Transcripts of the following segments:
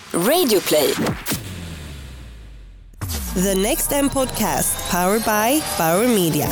Radio Play. The Next M podcast, powered by Bauer Media.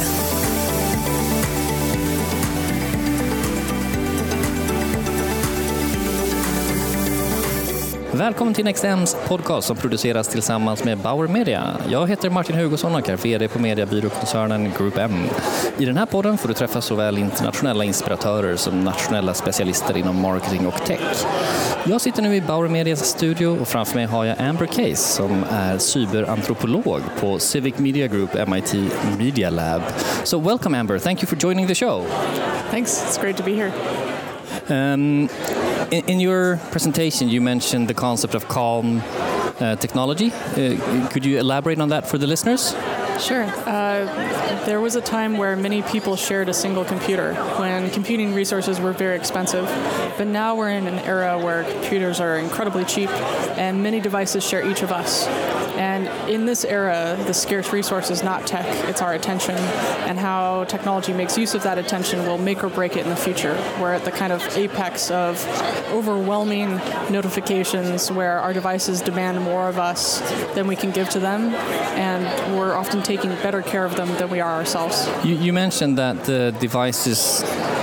Välkommen till NextMs podcast som produceras tillsammans med Bauer Media. Jag heter Martin Hugosson och är VD på mediebyråkoncernen Group M. I den här podden får du träffa såväl internationella inspiratörer som nationella specialister inom marketing och tech. Jag sitter nu i Bauer Medias studio och framför mig har jag Amber Case som är cyberantropolog på Civic Media Group MIT Media Lab. So welcome Amber, thank you for joining the show. Thanks, it's great to be here. In your presentation, you mentioned the concept of calm technology. Could you elaborate on that for the listeners? Sure. There was a time where many people shared a single computer when computing resources were very expensive. But now we're in an era where computers are incredibly cheap and many devices share each of us. And in this era, the scarce resource is not tech, it's our attention. And how technology makes use of that attention will make or break it in the future. We're at the kind of apex of overwhelming notifications where our devices demand more of us than we can give to them. And we're often taking better care of them than we are ourselves. You mentioned that the devices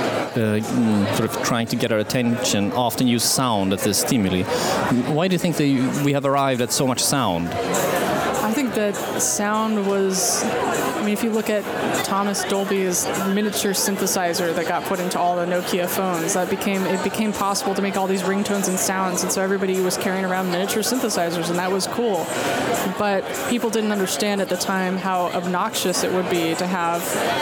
sort of trying to get our attention often use sound as the stimuli. Why do you think that we have arrived at so much sound? I think that sound was, if you look at Thomas Dolby's miniature synthesizer that got put into all the Nokia phones, it became possible to make all these ringtones and sounds, and so everybody was carrying around miniature synthesizers, and that was cool. But people didn't understand at the time how obnoxious it would be to have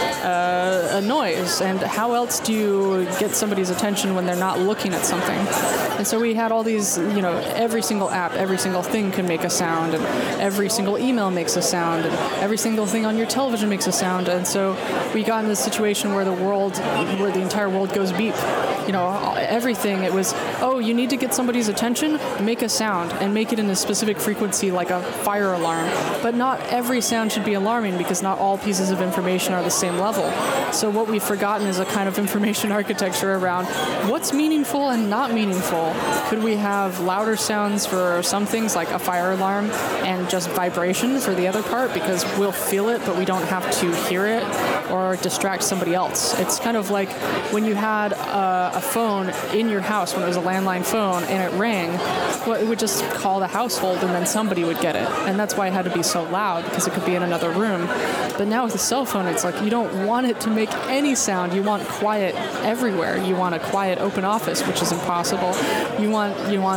a noise, and how else do you get somebody's attention when they're not looking at something? And so we had all these, every single app, every single thing can make a sound, and every single email makes a sound, and every single thing on your television makes a sound. And so we got in this situation where the entire world goes beep. Everything, it was, you need to get somebody's attention, make a sound, and make it in a specific frequency like a fire alarm. But not every sound should be alarming because not all pieces of information are the same level. So what we've forgotten is a kind of information architecture around what's meaningful and not meaningful. Could we have louder sounds for some things like a fire alarm and just vibration for the other part because we'll feel it but we don't have to hear it or distract somebody else? It's kind of like when you had a phone in your house when it was a landline phone and it rang, it would just call the household and then somebody would get it. And that's why it had to be so loud because it could be in another room. But now with a cell phone, it's like you don't want it to make any sound. You want quiet everywhere. You want a quiet open office, which is impossible. You want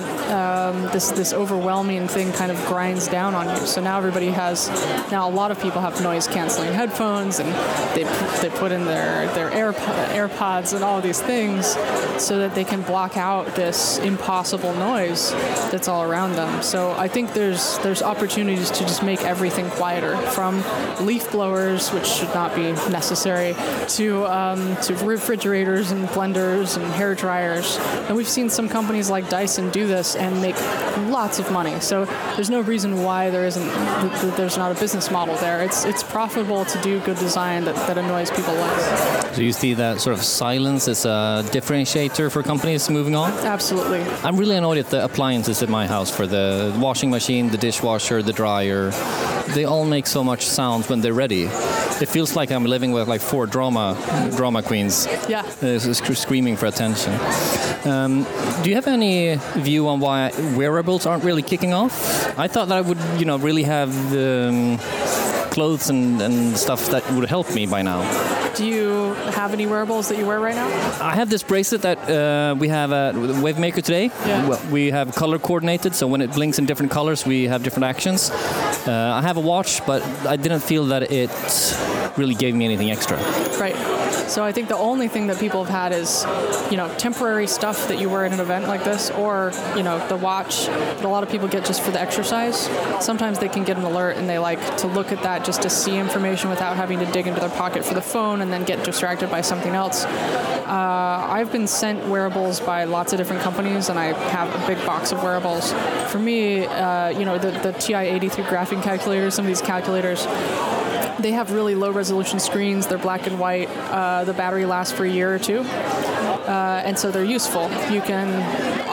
this overwhelming thing kind of grinds down on you. So now a lot of people have noise canceling headphones and they put in their AirPods and all of these things so that they can block out this impossible noise that's all around them. So I think there's opportunities to just make everything quieter, from leaf blowers, which should not be necessary, to refrigerators and blenders and hair dryers. And we've seen some companies like Dyson do this and make lots of money. So there's no reason why there's not a business model there. It's profitable to do good design that annoys people less. So you see that sort of silence as a differentiator for companies moving on? Absolutely. I'm really annoyed at the appliances in my house, for the washing machine, the dishwasher, the dryer. They all make so much sound when they're ready. It feels like I'm living with like 4 drama queens. Yeah. Screaming for attention. Do you have any view on why wearables aren't really kicking off? I thought that I would, really have clothes and stuff that would help me by now. Do you have any wearables that you wear right now? I have this bracelet that we have at Wavemaker today. Yeah. Well, we have color coordinated, so when it blinks in different colors, we have different actions. I have a watch, but I didn't feel that it really gave me anything extra. Right. So I think the only thing that people have had is, temporary stuff that you wear at an event like this, or, the watch that a lot of people get just for the exercise. Sometimes they can get an alert and they like to look at that just to see information without having to dig into their pocket for the phone and then get distracted by something else. I've been sent wearables by lots of different companies, and I have a big box of wearables. For me, the TI-83 graphing calculators, some of these calculators, they have really low resolution screens. They're black and white. The battery lasts for a year or two. And so they're useful. You can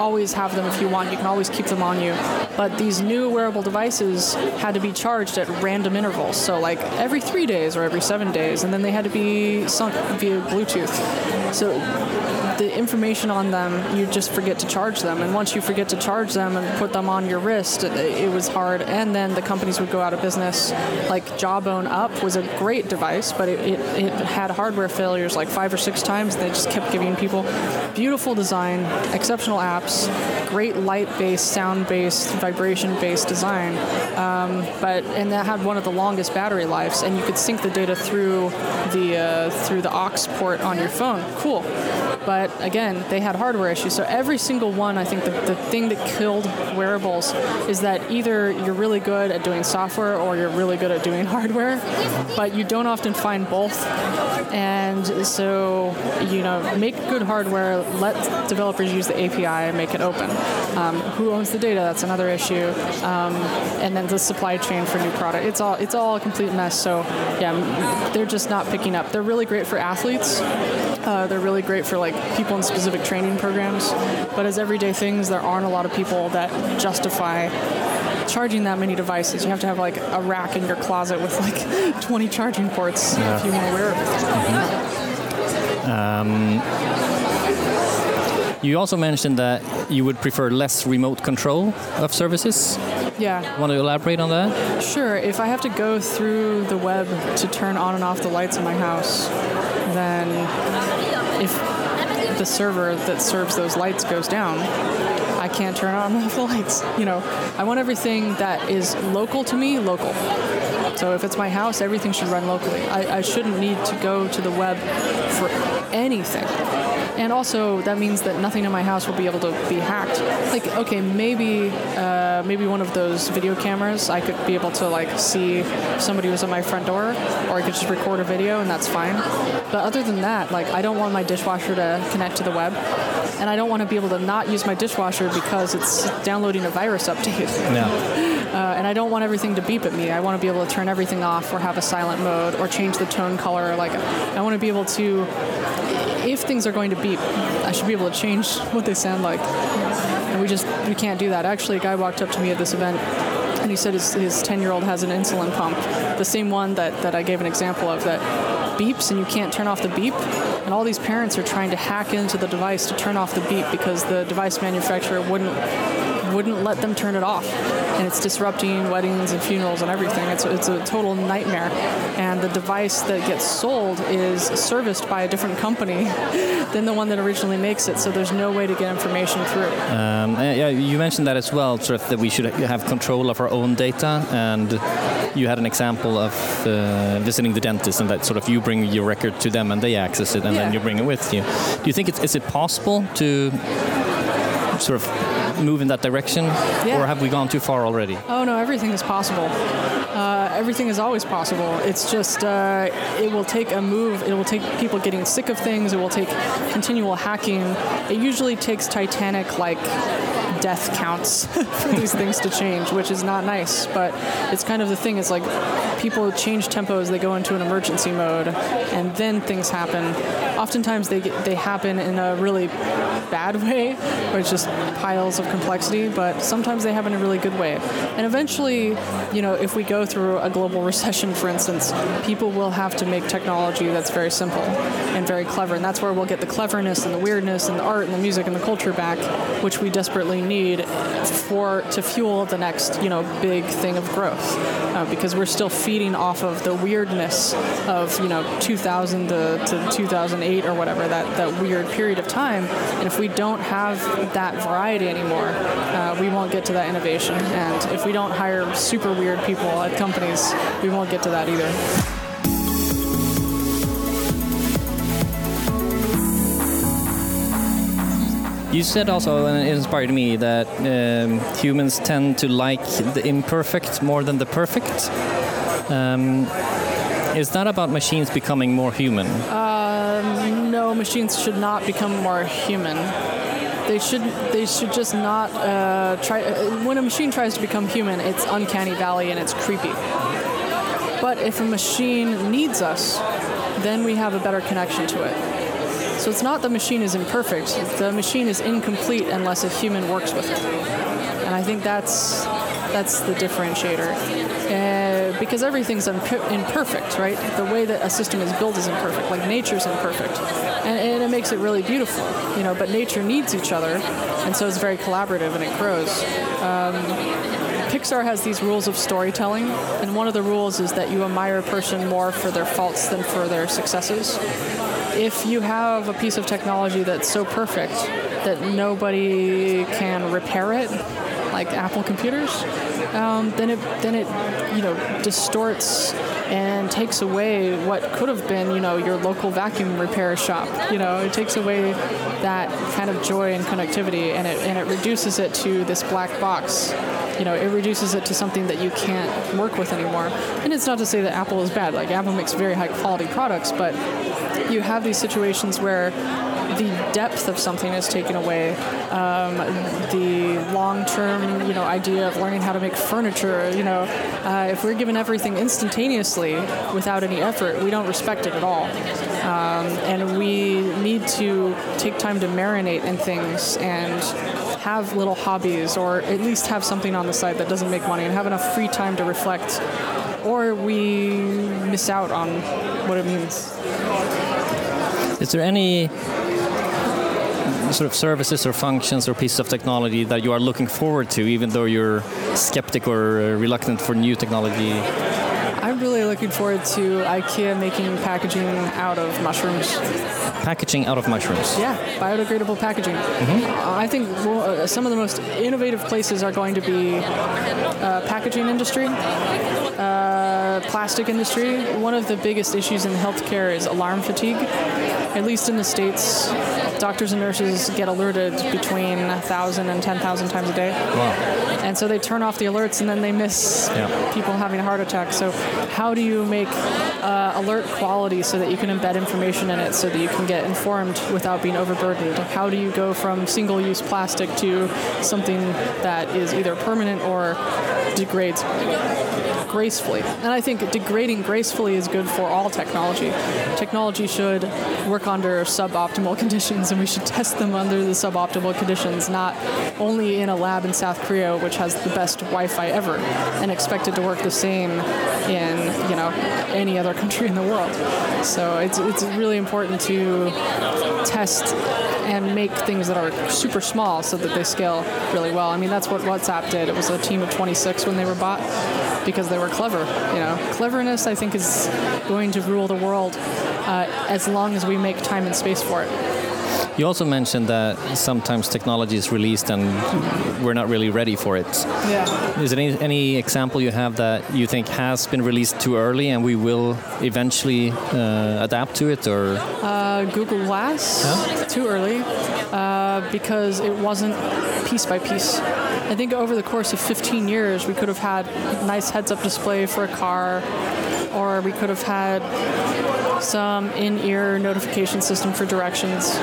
always have them if you want. You can always keep them on you. But these new wearable devices had to be charged at random intervals. So like every 3 days or every 7 days. And then they had to be sunk via Bluetooth. So the information on them, you just forget to charge them. And once you forget to charge them and put them on your wrist, it was hard. And then the companies would go out of business. Like Jawbone Up was a great device, but it had hardware failures like 5 or 6 times. They just kept giving people beautiful design, exceptional apps, great light-based, sound-based, vibration-based design. And that had one of the longest battery lives, and you could sync the data through the aux port on your phone. Cool. But again, they had hardware issues. So every single one, I think the thing that killed wearables is that either you're really good at doing software or you're really good at doing hardware, but you don't often find both. And so, make good hardware, let developers use the API and make it open. Who owns the data? That's another issue. And then the supply chain for new product. It's all a complete mess. So yeah, they're just not picking up. They're really great for athletes. They're really great for like people in specific training programs. But as everyday things, there aren't a lot of people that justify charging that many devices. You have to have like a rack in your closet with like 20 charging ports if you want to wear it. You also mentioned that you would prefer less remote control of services. Yeah. Want to elaborate on that? Sure. If I have to go through the web to turn on and off the lights in my house, then if the server that serves those lights goes down, I can't turn on and off the lights. I want everything that is local to me, local. So if it's my house, everything should run locally. I shouldn't need to go to the web for anything. And also, that means that nothing in my house will be able to be hacked. Like, okay, maybe one of those video cameras, I could be able to like see if somebody was at my front door, or I could just record a video, and that's fine. But other than that, like, I don't want my dishwasher to connect to the web, and I don't want to be able to not use my dishwasher because it's downloading a virus update. Yeah. And I don't want everything to beep at me. I want to be able to turn everything off or have a silent mode or change the tone color. Like, I want to be able to, if things are going to beep, I should be able to change what they sound like. And we can't do that. Actually, a guy walked up to me at this event and he said his 10-year-old has an insulin pump, the same one that I gave an example of, that beeps and you can't turn off the beep. And all these parents are trying to hack into the device to turn off the beep because the device manufacturer wouldn't let them turn it off. And it's disrupting weddings and funerals and everything. It's a total nightmare. And the device that gets sold is serviced by a different company than the one that originally makes it. So there's no way to get information through. Yeah, you mentioned that as well, sort of that we should have control of our own data. And you had an example of visiting the dentist, and that sort of you bring your record to them and they access it, and then you bring it with you. Do you think is it possible to sort of move in that direction, or have we gone too far already? Oh no, everything is possible. Everything is always possible. It's just it will take a move. It will take people getting sick of things. It will take continual hacking. It usually takes Titanic-like death counts for these things to change, which is not nice. But it's kind of the thing. It's like people change tempo as they go into an emergency mode, and then things happen. Oftentimes they happen in a really bad way, where it's just piles of complexity, but sometimes they happen in a really good way. And eventually, if we go through a global recession, for instance, people will have to make technology that's very simple and very clever, and that's where we'll get the cleverness and the weirdness and the art and the music and the culture back, which we desperately need to fuel the next, big thing of growth, because we're still feeding off of the weirdness of, 2000 to 2008 or whatever, that weird period of time. And if we don't have that variety anymore, we won't get to that innovation. And if we don't hire super weird people at companies, we won't get to that either. You said also, and it inspired me, that humans tend to like the imperfect more than the perfect. Is that about machines becoming more human? No, machines should not become more human. They should just not try. When a machine tries to become human, it's uncanny valley and it's creepy. But if a machine needs us, then we have a better connection to it. So it's not the machine is imperfect. The machine is incomplete unless a human works with it. And I think that's the differentiator. Because everything's imperfect, right? The way that a system is built is imperfect. Like nature's imperfect. And it makes it really beautiful, but nature needs each other. And so it's very collaborative and it grows. Pixar has these rules of storytelling, and one of the rules is that you admire a person more for their faults than for their successes. If you have a piece of technology that's so perfect that nobody can repair it, like Apple computers, then it distorts and takes away what could have been, your local vacuum repair shop. It takes away that kind of joy and connectivity, and it reduces it to this black box. It reduces it to something that you can't work with anymore. And it's not to say that Apple is bad. Like, Apple makes very high quality products, but you have these situations where the depth of something is taken away. The long-term, idea of learning how to make furniture. If we're given everything instantaneously without any effort, we don't respect it at all. And we need to take time to marinate in things and have little hobbies, or at least have something on the side that doesn't make money, and have enough free time to reflect, or we miss out on what it means. Is there any sort of services or functions or pieces of technology that you are looking forward to, even though you're skeptic or reluctant for new technology? I'm really looking forward to IKEA making packaging out of mushrooms. Packaging out of mushrooms? Yeah, biodegradable packaging. Mm-hmm. I think some of the most innovative places are going to be packaging industry, plastic industry. One of the biggest issues in healthcare is alarm fatigue. At least in the States, doctors and nurses get alerted between 1,000 and 10,000 times a day. Wow. And so they turn off the alerts and then they miss people having a heart attack. So how do you make alert quality so that you can embed information in it so that you can get informed without being overburdened? How do you go from single-use plastic to something that is either permanent or degrades gracefully? And I think degrading gracefully is good for all technology. Technology should work under suboptimal conditions, and we should test them under the suboptimal conditions, not only in a lab in South Korea, which has the best Wi-Fi ever, and expect it to work the same in any other country in the world. So it's really important to test and make things that are super small so that they scale really well. I mean, that's what WhatsApp did. It was a team of 26 when they were bought because they were clever. Cleverness, I think, is going to rule the world as long as we make time and space for it. You also mentioned that sometimes technology is released and we're not really ready for it. Yeah. Is there any example you have that you think has been released too early and we will eventually adapt to it? Or Google Glass, too early, because it wasn't piece by piece. I think over the course of 15 years, we could have had nice heads-up display for a car, or we could have had some in-ear notification system for directions.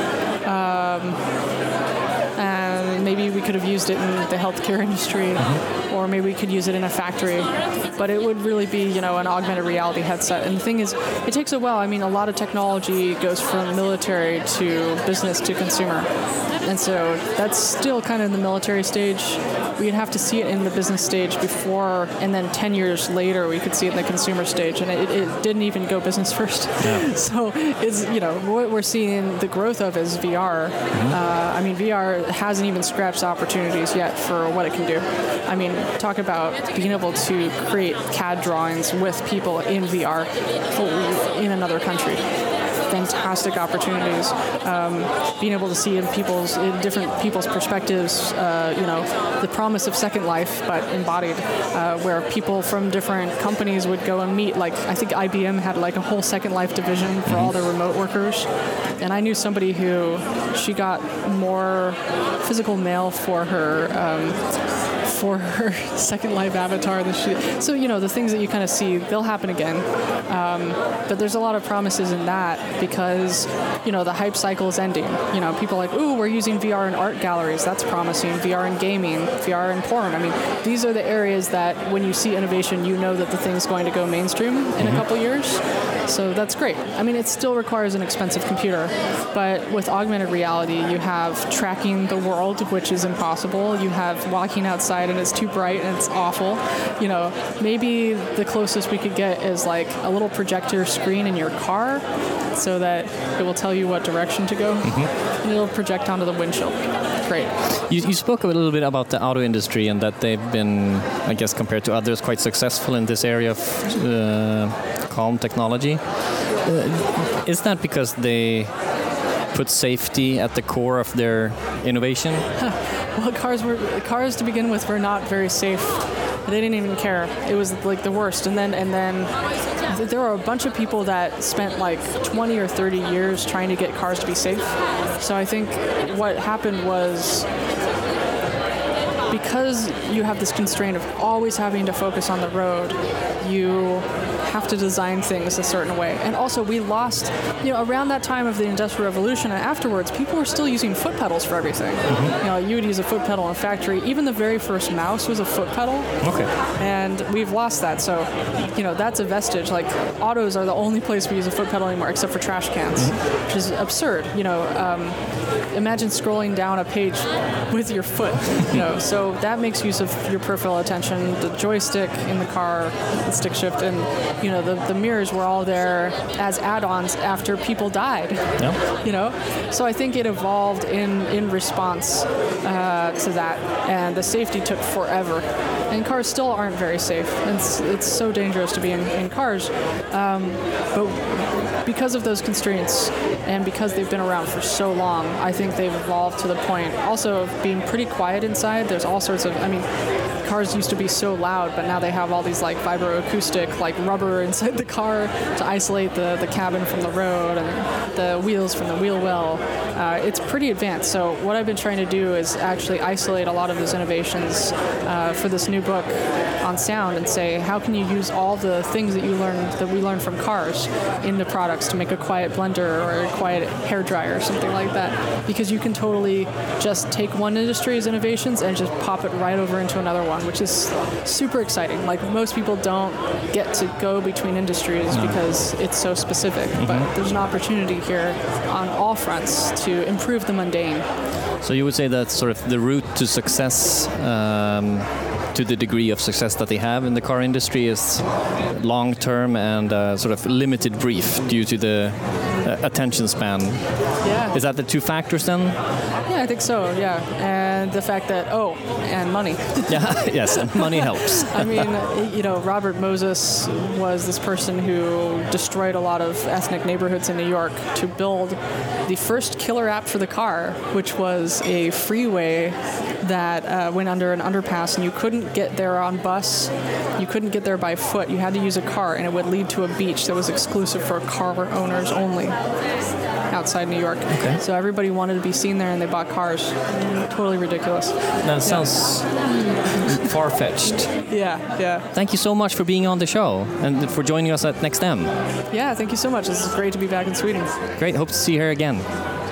And maybe we could have used it in the healthcare industry, or maybe we could use it in a factory. But it would really be, an augmented reality headset. And the thing is, it takes a while. I mean, a lot of technology goes from military to business to consumer. And so that's still kind of in the military stage. We'd have to see it in the business stage before, and then 10 years later, we could see it in the consumer stage. And it didn't even go business first. Yeah. So it's, what we're seeing the growth of is VR. I mean, VR hasn't even scratched the opportunities yet for what it can do. I mean, talk about being able to create CAD drawings with people in VR in another country. Fantastic opportunities. Being able to see in different people's perspectives, the promise of Second Life, but embodied, where people from different companies would go and meet. Like, I think IBM had like a whole Second Life division for all their remote workers. And I knew somebody who, she got more physical mail for her for her Second Life avatar. So, the things that you kind of see, they'll happen again. But there's a lot of promises in that because, the hype cycle is ending. People are like, ooh, we're using VR in art galleries. That's promising. VR in gaming, VR in porn. I mean, these are the areas that when you see innovation, that the thing's going to go mainstream in a couple years. So that's great. I mean, it still requires an expensive computer, but with augmented reality, you have tracking the world, which is impossible. You have walking outside and it's too bright and it's awful. Maybe the closest we could get is like a little projector screen in your car so that it will tell you what direction to go, and it'll project onto the windshield. Great. You spoke a little bit about the auto industry and that they've been, I guess, compared to others, quite successful in this area of calm technology. Is that because they put safety at the core of their innovation? Well, cars to begin with were not very safe. They didn't even care. It was like the worst. And then there were a bunch of people that spent like 20 or 30 years trying to get cars to be safe. So I think what happened was, because you have this constraint of always having to focus on the road, you have to design things a certain way. And also we lost, around that time of the Industrial Revolution and afterwards, people were still using foot pedals for everything. You would use a foot pedal in a factory. Even the very first mouse was a foot pedal. Okay. And we've lost that. So, that's a vestige. Like, autos are the only place we use a foot pedal anymore, except for trash cans, which is absurd. Imagine scrolling down a page with your foot. So that makes use of your peripheral attention, the joystick in the car, the stick shift, and the mirrors were all there as add-ons after people died. Yeah. So I think it evolved in response to that, and the safety took forever. And cars still aren't very safe. It's so dangerous to be in cars, but because of those constraints and because they've been around for so long, I think they've evolved to the point also of being pretty quiet inside. There's all sorts of, cars used to be so loud, but now they have all these like vibroacoustic, like rubber inside the car to isolate the cabin from the road and the wheels from the wheel well. It's pretty advanced. So what I've been trying to do is actually isolate a lot of those innovations for this new book on sound and say, how can you use all the things that we learned from cars in the products to make a quiet blender or a quiet hairdryer or something like that? Because you can totally just take one industry's innovations and just pop it right over into another one, which is super exciting. Like, most people don't get to go between industries because it's so specific, but there's an opportunity here on all fronts to improve the mundane. So you would say that sort of the route to success, to the degree of success that they have in the car industry, is long-term and sort of limited brief due to the attention span. Yeah. Is that the two factors then? Yeah, I think so, yeah. And the fact that, and money. Yeah, yes, and money helps. Robert Moses was this person who destroyed a lot of ethnic neighborhoods in New York to build the first killer app for the car, which was a freeway that went under an underpass, and you couldn't get there on bus, you couldn't get there by foot, you had to use a car, and it would lead to a beach that was exclusive for car owners only outside New York. Okay. So everybody wanted to be seen there, and they bought cars. Totally ridiculous. That sounds far-fetched. Yeah. Thank you so much for being on the show and for joining us at NextM. Yeah, thank you so much. This is great to be back in Sweden. Great. Hope to see you here again.